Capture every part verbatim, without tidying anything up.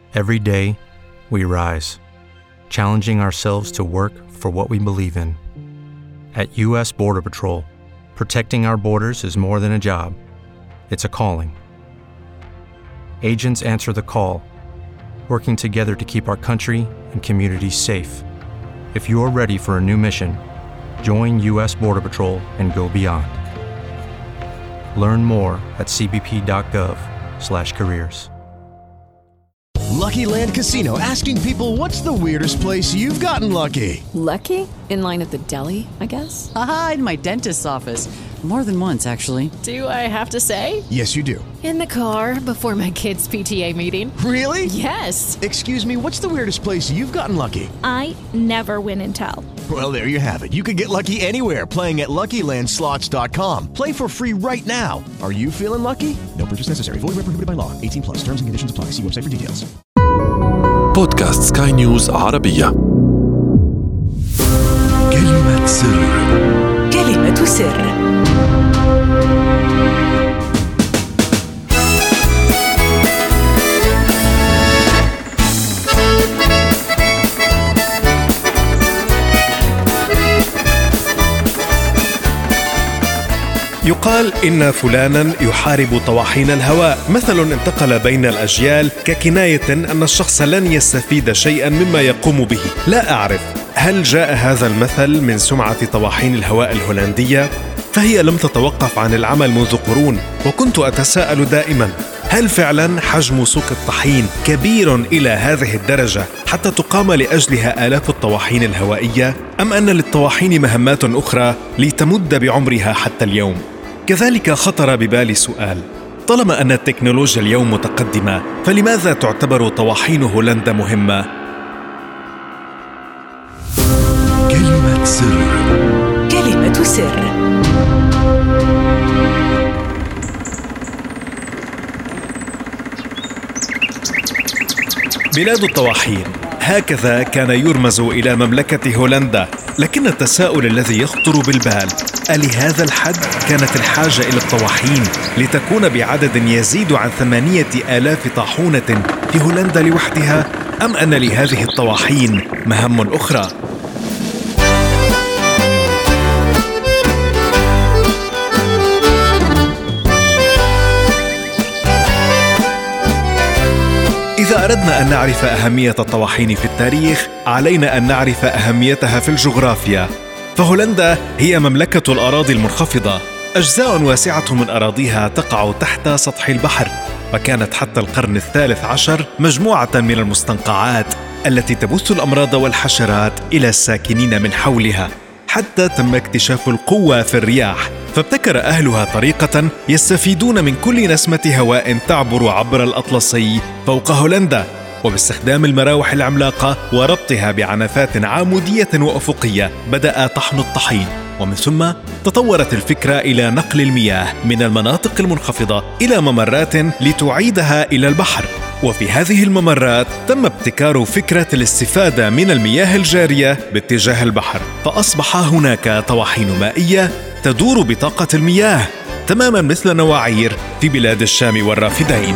Every day, we rise, challenging ourselves to work for what we believe in. At U S Border Patrol, protecting our borders is more than a job. It's a calling. Agents answer the call, working together to keep our country and communities safe. If you're ready for a new mission, join U S Border Patrol and go beyond. Learn more at c b p dot gov slash careers. Lucky Land Casino, asking people, what's the weirdest place you've gotten lucky? Lucky? In line at the deli, I guess? Aha, in my dentist's office. More than once, actually. Do I have to say? Yes, you do. In the car before my kids' P T A meeting. Really? Yes. Excuse me, what's the weirdest place you've gotten lucky? I never win and tell. Well, there you have it. You can get lucky anywhere, playing at lucky land slots dot com. Play for free right now. Are you feeling lucky? No purchase necessary. Void where prohibited by law. eighteen plus. Terms and conditions apply. See website for details. بودكاست سكاي نيوز عربية. كلمة سر. كلمة سر. يقال إن فلانا يحارب طواحين الهواء، مثل انتقل بين الأجيال ككناية أن الشخص لن يستفيد شيئا مما يقوم به. لا أعرف هل جاء هذا المثل من سمعة طواحين الهواء الهولندية؟ فهي لم تتوقف عن العمل منذ قرون، وكنت أتساءل دائما: هل فعلا حجم سوق الطحين كبير إلى هذه الدرجة حتى تقام لأجلها آلاف الطواحين الهوائية؟ أم أن للطواحين مهمات أخرى لتمد بعمرها حتى اليوم؟ كذلك خطر ببالي سؤال: طالما أن التكنولوجيا اليوم متقدمة، فلماذا تعتبر طواحين هولندا مهمة؟ كلمة سر. كلمة سر. بلاد الطواحين، هكذا كان يرمز إلى مملكة هولندا. لكن التساؤل الذي يخطر بالبال: ألهذا الحد كانت الحاجة إلى الطواحين لتكون بعدد يزيد عن ثمانية آلاف طاحونة في هولندا لوحدها؟ أم أن لهذه الطواحين مهام أخرى؟ إذا أردنا أن نعرف أهمية الطواحين في التاريخ، علينا أن نعرف أهميتها في الجغرافيا. فهولندا هي مملكة الأراضي المنخفضة، أجزاء واسعة من أراضيها تقع تحت سطح البحر، وكانت حتى القرن الثالث عشر مجموعة من المستنقعات التي تبث الأمراض والحشرات إلى الساكنين من حولها، حتى تم اكتشاف القوة في الرياح، فابتكر أهلها طريقة يستفيدون من كل نسمة هواء تعبر عبر الأطلسي فوق هولندا، وباستخدام المراوح العملاقة وربطها بعنفات عمودية وأفقية بدأ طحن الطحين. ومن ثم تطورت الفكرة إلى نقل المياه من المناطق المنخفضة إلى ممرات لتعيدها إلى البحر. وفي هذه الممرات تم ابتكار فكرة الاستفادة من المياه الجارية باتجاه البحر، فأصبح هناك طواحين مائية تدور بطاقة المياه، تماما مثل نواعير في بلاد الشام والرافدين.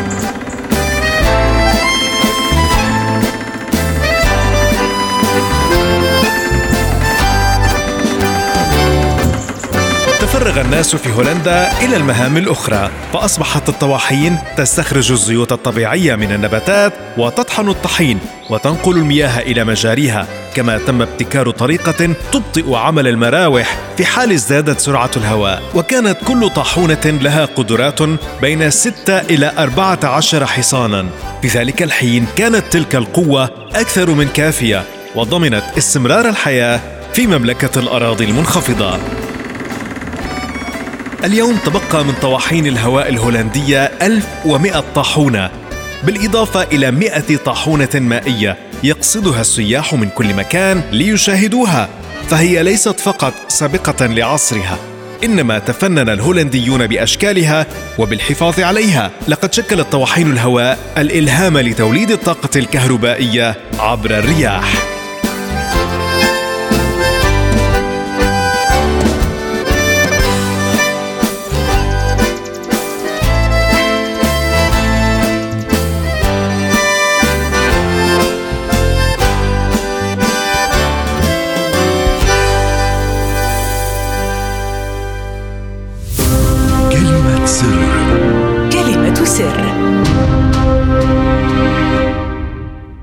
تفرغ الناس في هولندا إلى المهام الأخرى، فأصبحت الطواحين تستخرج الزيوت الطبيعية من النباتات وتطحن الطحين وتنقل المياه إلى مجاريها. كما تم ابتكار طريقة تبطئ عمل المراوح في حال ازدادت سرعة الهواء، وكانت كل طاحونة لها قدرات بين ستة إلى أربعة عشر حصانا. في ذلك الحين كانت تلك القوة أكثر من كافية، وضمنت استمرار الحياة في مملكة الأراضي المنخفضة. اليوم تبقى من طواحين الهواء الهولندية ألف ومئة طاحونة، بالإضافة إلى مئة طاحونة مائية يقصدها السياح من كل مكان ليشاهدوها. فهي ليست فقط سابقة لعصرها، إنما تفنن الهولنديون بأشكالها وبالحفاظ عليها. لقد شكلت طواحين الهواء الإلهام لتوليد الطاقة الكهربائية عبر الرياح.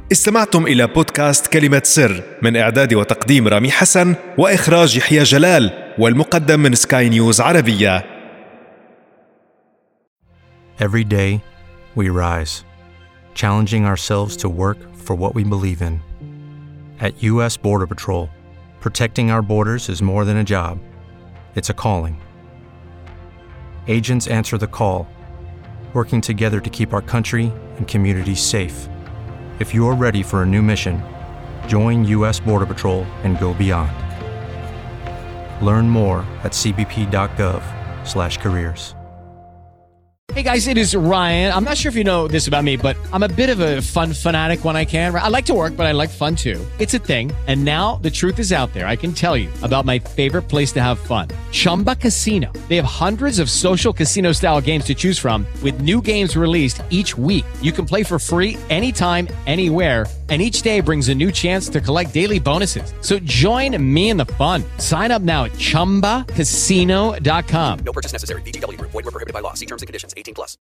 استمعتم إلى بودكاست كلمة سر من إعداد وتقديم رامي حسن وإخراج يحيى جلال والمقدم من سكاي نيوز عربية. Every day, we rise, challenging ourselves to work for what we believe in. At U S Border Patrol, protecting our borders is more than a job. It's a calling. Agents answer the call, working together to keep our country and communities safe. If you're ready for a new mission, join U S Border Patrol and go beyond. Learn more at c b p dot gov slash careers. Hey guys, it is Ryan. I'm not sure if you know this about me, but I'm a bit of a fun fanatic when I can. I like to work, but I like fun too. It's a thing. And now the truth is out there. I can tell you about my favorite place to have fun. Chumba Casino. They have hundreds of social casino style games to choose from with new games released each week. You can play for free anytime, anywhere. And each day brings a new chance to collect daily bonuses. So join me in the fun. Sign up now at chumba casino dot com. No purchase necessary. V G W Group. Void where prohibited by law. See terms and conditions. eighteen plus.